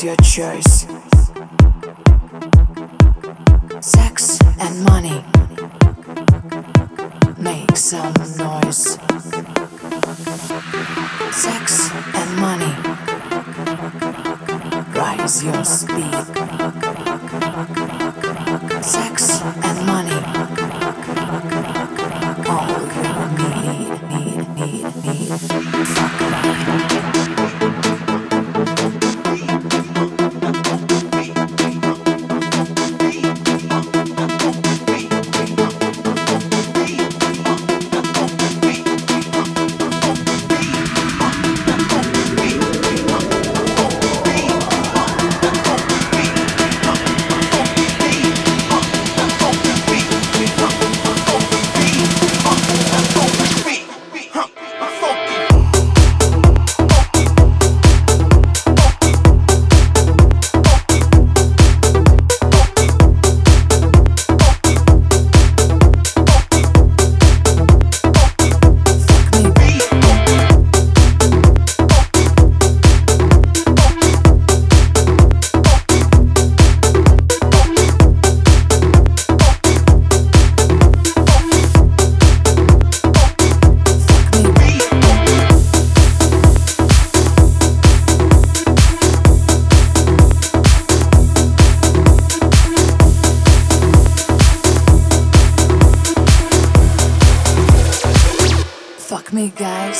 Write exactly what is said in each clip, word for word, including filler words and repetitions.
your choice? Sex and money. Make some noise. Sex and money. Rise your speed. Sex and money. All you need, need, need, need. Fuck me. Fuck me, guys.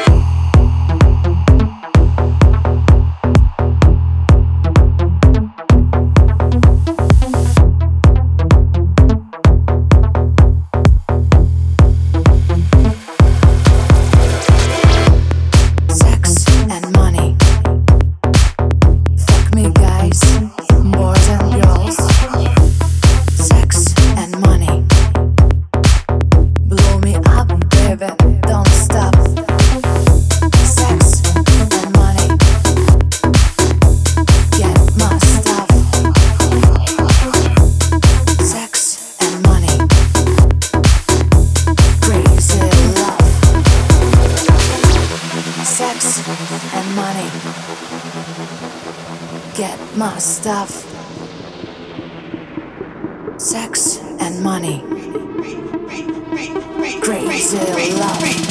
Sex and money. Fuck me, guys. Boys and girls. Sex and money. Blow me up, baby. Don't stop. Sex and money. Get my stuff. Sex and money. Crazy love. Sex and money. Get my stuff. Sex and money. Crazy love.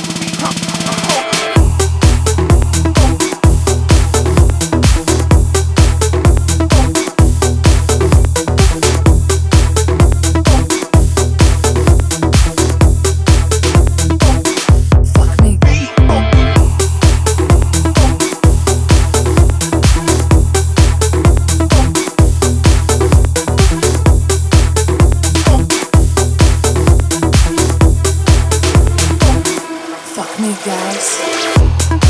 Fuck me, guys.